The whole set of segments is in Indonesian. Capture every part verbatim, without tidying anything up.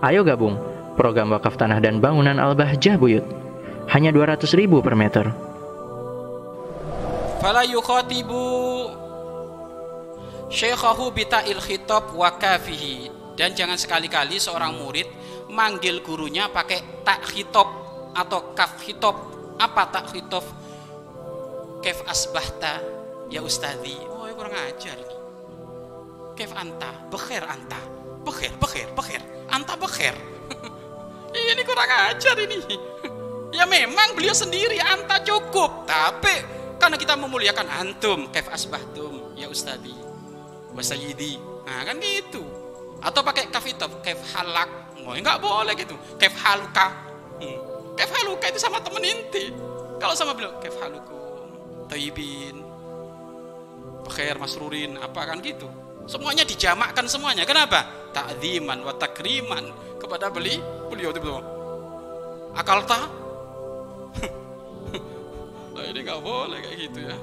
Ayo gabung program wakaf tanah dan bangunan Al-Bahjah Buyut. Hanya dua ratus ribu per meter. Fala yukhatibu syekhahu bita'il khitab wa kafihi. Dan jangan sekali-kali seorang murid manggil gurunya pakai tak khitab atau kaf khitab. Apa tak khitab? Kaif asbahta ya ustadzi. Oh, ya kurang ajar ini. Kaif anta? Bekhair anta. Bekhair, bekhair, bekhair. Anta bekhair. Ini kurang ajar ini. Ya memang beliau sendiri anta cukup, tapi karena kita memuliakan antum, kaif asbahtum ya ustadzi wa sayyidi. Nah, kan gitu. Atau pakai kaf itu, kaif halak. Oh, enggak boleh gitu. Kaif haluka. Hmm. Kaif haluka itu sama temen inti. Kalau sama beliau kaif halukum, thayyibin, bekhair, masrurin, apa kan gitu. Semuanya dijamakkan semuanya. Kenapa? Ta'dziman wa takriman kepada beli beliau itu betul. Akal tak? Nah, ini nggak boleh kayak gitu ya.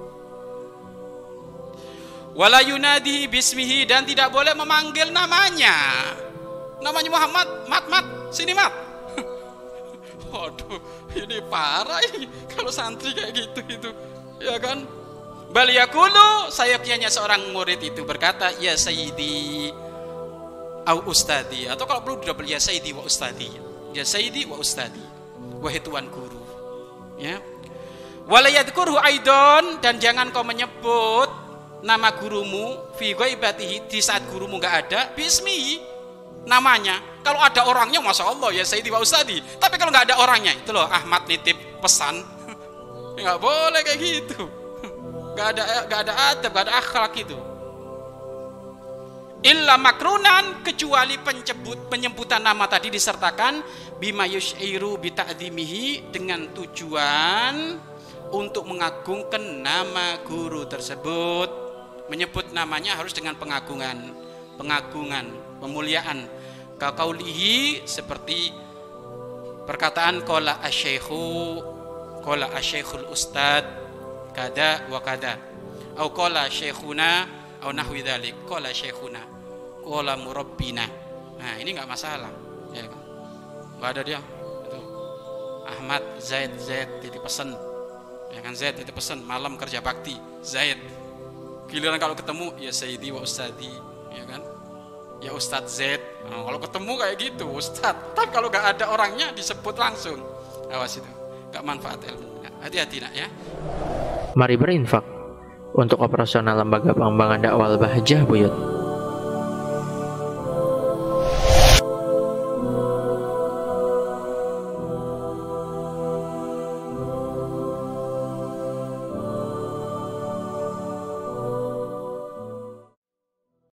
Wala yunadihi bismihi, dan tidak boleh memanggil namanya. Namanya Muhammad, mat mat, sini mat. Waduh, ini parah ini kalau santri kayak gitu itu, ya kan? Bal yaqulu, sayapnya seorang murid itu berkata, ya sayyidi au ustadi, atau kalau perlu double ya sayyidi wa ustadi. Ya sayyidi wa ustadi. Wahai tuan guru. Ya. Wala yadhkurhu aidon, dan jangan kau menyebut nama gurumu fi ghaibatihi, di saat gurumu enggak ada, bismi namanya. Kalau ada orangnya masya Allah ya sayyidi wa ustadi. Tapi kalau enggak ada orangnya, itu loh Ahmad nitip pesan. Enggak boleh kayak gitu. Gak ada, gak ada adab, gak ada akhlak itu. Illa makrunan, kecuali penyebut, penyebutan nama tadi disertakan bima yush'iru bita'dhimihi, dengan tujuan untuk mengagungkan nama guru tersebut. Menyebut namanya harus dengan pengagungan, pengagungan, pemuliaan. Kaqaulihi, seperti perkataan qala asy-syaikhu, qala asy-syaikhul ustad kada wa kada, au qala syekhuna au nahwi dzalik, qala syekhuna, qala murabbina. Nah, ini enggak masalah, ya kan? Enggak ada dia itu Ahmad Zaid Zaid titip pesan, ya kan, Zaid titip pesan malam kerja bakti Zaid. Giliran kalau ketemu ya sayyidi wa ustadi, ya kan? Ya Ustadz Zaid. Nah, kalau ketemu kayak gitu Ustadz, tapi kalau enggak ada orangnya disebut langsung. Awas itu, enggak manfaat ilmu. Hati-hati nak ya. Mari berinfak untuk operasional lembaga pengembangan dakwah Al-Bahjah Buyut.